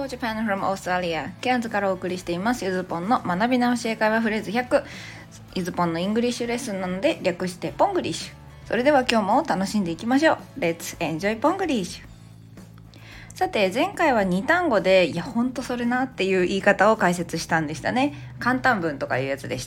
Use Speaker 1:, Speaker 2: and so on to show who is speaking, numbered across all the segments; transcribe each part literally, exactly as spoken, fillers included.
Speaker 1: Japan from Australia ケアンズからお送りしていますゆずぽんの学び直し英会話フレーズひゃく。ゆずぽんのイングリッシュレッスンなので略してポングリッシュ。それでは今日も楽しんでいきましょう。 Let's enjoy ポングリッシュ。さて前回はに単語でいやほんとそれなっていう言い方を解説したんでしたね。簡単文とかいうやつでした。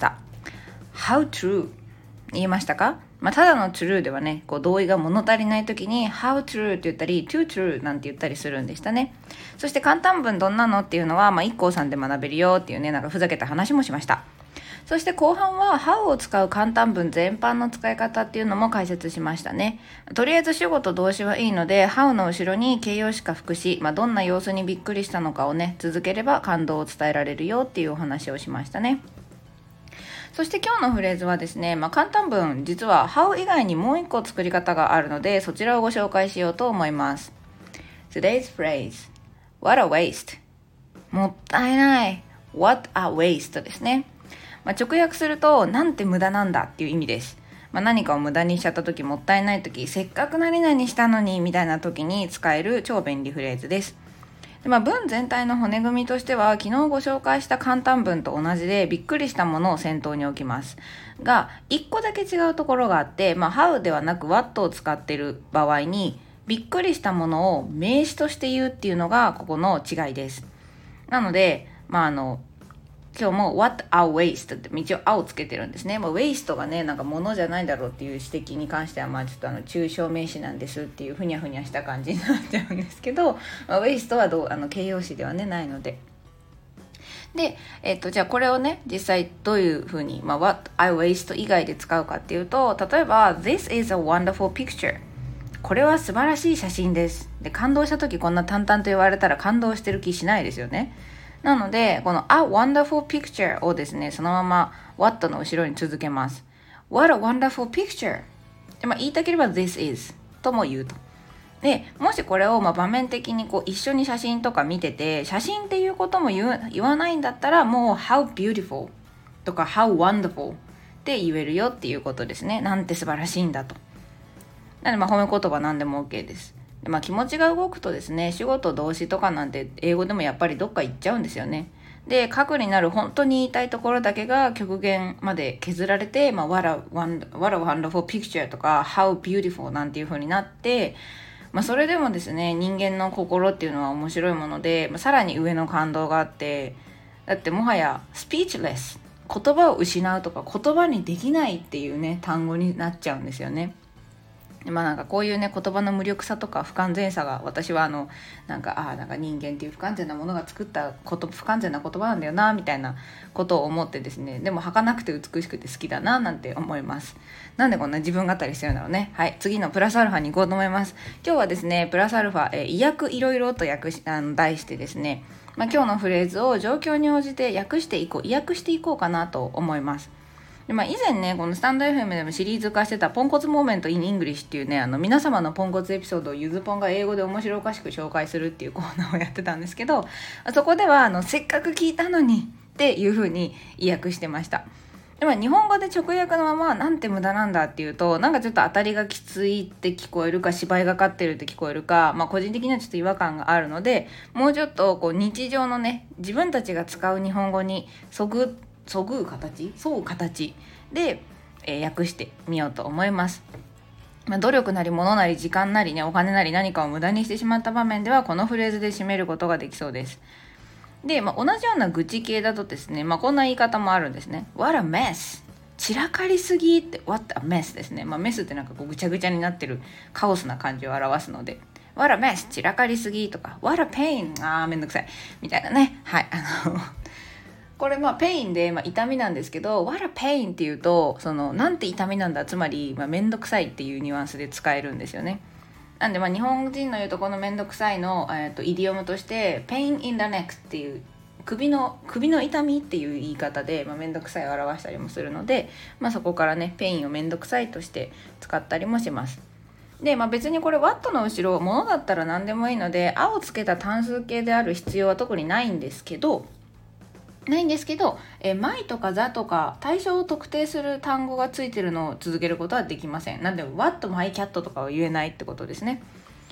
Speaker 1: How true 言えましたか？まあ、ただの true ではね、こう同意が物足りない時に how true って言ったり too true なんて言ったりするんでしたね。そして簡単文どんなのっていうのは、まあ、いっこうさんで学べるよっていうね、なんかふざけた話もしました。そして後半は how を使う簡単文全般の使い方っていうのも解説しましたね。とりあえず主語と動詞はいいので how の後ろに形容詞か副詞、まあ、どんな様子にびっくりしたのかをね続ければ感動を伝えられるよっていうお話をしましたね。そして今日のフレーズはですね、まあ、簡単文実は how 以外にもう一個作り方があるのでそちらをご紹介しようと思います。 Today's phrase What a waste もったいない What a waste ですね。まあ、直訳するとなんて無駄なんだっていう意味です。まあ、何かを無駄にしちゃった時、もったいない時、せっかく何々したのにみたいな時に使える超便利フレーズです。で、まあ、文全体の骨組みとしては昨日ご紹介した簡単文と同じでびっくりしたものを先頭に置きますが、いっこだけ違うところがあって、まあ、how ではなく what を使っている場合にびっくりしたものを名詞として言うっていうのがここの違いです。なので、まあ、あの今日も What a waste って一応「あ」をつけてるんですね。まあ、waste がねなんか物じゃないだろうっていう指摘に関してはまあちょっとあの抽象名詞なんですっていうふにゃふにゃした感じになっちゃうんですけど、まあ、waste はどうあの形容詞ではねないので。で、えっと、じゃあこれをね実際どういうふうに、まあ、What I waste 以外で使うかっていうと、例えば This is a wonderful picture これは素晴らしい写真ですで、感動した時こんな淡々と言われたら感動してる気しないですよね。なのでこの A wonderful picture をですねそのまま What の後ろに続けます。 What a wonderful picture で、まあ、言いたければ This is とも言うと。でもしこれをまあ場面的にこう一緒に写真とか見てて写真っていうことも言う言わないんだったらもう How beautiful とか How wonderful って言えるよっていうことですね。なんて素晴らしいんだと。なのでまあ褒め言葉なんでも OK です。でまあ、気持ちが動くとですね主語と動詞とかなんて英語でもやっぱりどっか行っちゃうんですよね。で核になる本当に言いたいところだけが極限まで削られて、まあ、What a wonderful picture とか How beautiful なんていう風になって、まあ、それでもですね人間の心っていうのは面白いもので、まあ、さらに上の感動があって、だってもはやスピーチレス言葉を失うとか言葉にできないっていうね単語になっちゃうんですよね。まあなんかこういうね言葉の無力さとか不完全さが私はあのなんかあなんか人間っていう不完全なものが作ったこと不完全な言葉なんだよなみたいなことを思ってですね、でも儚くて美しくて好きだななんて思います。なんでこんな自分語りしてるんだろうね。はい、次のプラスアルファに行こうと思います。今日はですねプラスアルファ、えー、意訳いろいろと訳しあの題してですね、まあ、今日のフレーズを状況に応じて訳していこう意訳していこうかなと思います。でまあ、以前ねこのスタンド エフエム でもシリーズ化してたポンコツモーメントインイングリッシュっていうねあの皆様のポンコツエピソードをゆずぽんが英語で面白おかしく紹介するっていうコーナーをやってたんですけど、そこではあのせっかく聞いたのにっていう風に意訳してました。でも日本語で直訳のままなんて無駄なんだっていうとなんかちょっと当たりがきついって聞こえるか芝居がかってるって聞こえるか、まあ個人的にはちょっと違和感があるのでもうちょっとこう日常のね自分たちが使う日本語にそぐそぐう形そう形で、えー、訳してみようと思います。まあ、努力なり物なり時間なりねお金なり何かを無駄にしてしまった場面ではこのフレーズで締めることができそうです。で、まあ、同じような愚痴系だとですね、まあ、こんな言い方もあるんですね。 What a mess 散らかりすぎって What a mess ですね。まあ、メスってなんかこうぐちゃぐちゃになってるカオスな感じを表すので What a mess 散らかりすぎとか What a pain あーめんどくさいみたいなね。はいあのこれまあペインで、まあ、痛みなんですけど What a pain っていうとそのなんて痛みなんだつまり、まあ、めんどくさいっていうニュアンスで使えるんですよね。なんでまあ日本人の言うとこのめんどくさいの、えー、とイディオムとして pain in the neck っていう首の首の痛みっていう言い方で、まあ、めんどくさいを表したりもするので、まあ、そこからねペインをめんどくさいとして使ったりもします。で、まあ、別にこれ What の後ろ物だったら何でもいいのであをつけた単数形である必要は特にないんですけどないんですけど、え my とか the とか対象を特定する単語がついてるのを続けることはできません。なんで What my cat とかは言えないってことですね。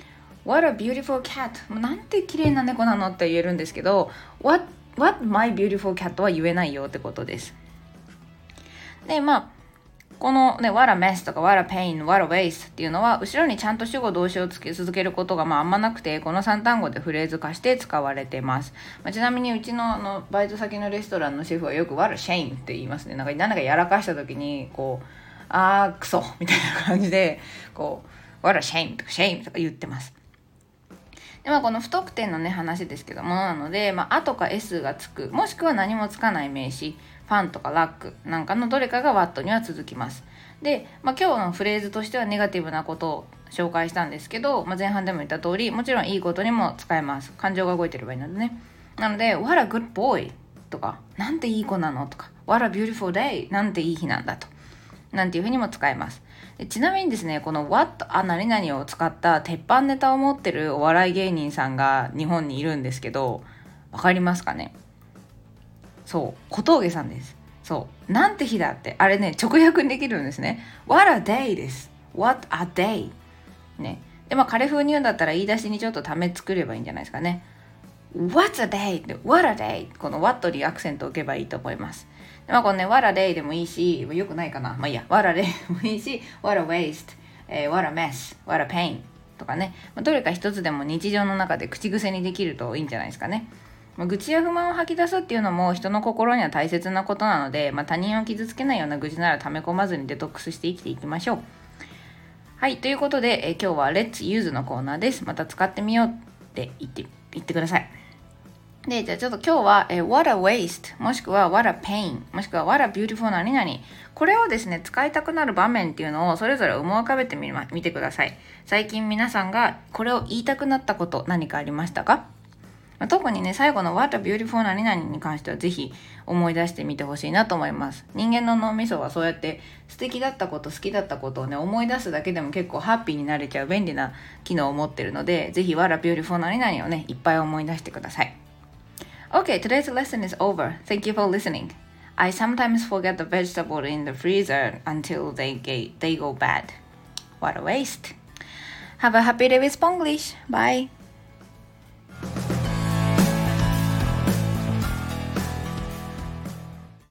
Speaker 1: What a beautiful cat なんて綺麗な猫なのって言えるんですけど What, what my beautiful cat は言えないよってことです。でまあこのね What a mess とか What a pain What a waste っていうのは後ろにちゃんと主語動詞をつけ続けることがまああんまなくてこのさん単語でフレーズ化して使われてます、まあ、ちなみにうち の, あのバイト先のレストランのシェフはよく What a shame って言いますね。なんか何かやらかした時にこうあークソみたいな感じでこう What a shame とか shame とか言ってます。でまあ、この不得点のね話ですけどもなので、まあ、あとか S がつくもしくは何もつかない名詞ファンとかラックなんかのどれかが What には続きます。で、まあ、今日のフレーズとしてはネガティブなことを紹介したんですけど、まあ、前半でも言った通りもちろんいいことにも使えます。感情が動いてればいいのでね。なので What a good boy とかなんていい子なのとか What a beautiful day なんていい日なんだとなんていうふうにも使えます。でちなみにですねこの What あ何々を使った鉄板ネタを持ってるお笑い芸人さんが日本にいるんですけどわかりますかね。そう小峠さんです。そうなんて日だってあれね直訳にできるんですね。 What a day です。 What a day ね。でまあ彼風に言うんだったら言い出しにちょっとため作ればいいんじゃないですかね。 What's a day で What a day この What にアクセントを置けばいいと思います。でまあこのね What a day でもいいしよくないかなまあいいや What a day でもいいし What a waste、えー、What a mess What a pain とかね、まあ、どれか一つでも日常の中で口癖にできるといいんじゃないですかね。まあ、愚痴や不満を吐き出すっていうのも人の心には大切なことなので、まあ、他人を傷つけないような愚痴なら溜め込まずにデトックスして生きていきましょう。はいということで、え今日は Let's Use のコーナーです。また使ってみようって言って言ってください。でじゃあちょっと今日は、え What a waste もしくは What a pain もしくは What a beautiful 何々これをですね使いたくなる場面っていうのをそれぞれ思い浮かべてみ、ま、見てください。最近皆さんがこれを言いたくなったこと何かありましたか。特にね最後の What a beautiful 何々に関してはぜひ思い出してみてほしいなと思います。人間の脳みそはそうやって素敵だったこと好きだったことをね思い出すだけでも結構ハッピーになれちゃう便利な機能を持ってるのでぜひ What a beautiful 何々をねいっぱい思い出してください。 Okay, today's lesson is over. Thank you for listening. I sometimes forget the vegetable in the freezer until they, get, they go bad. What a waste. Have a happy day with Spanglish. Bye.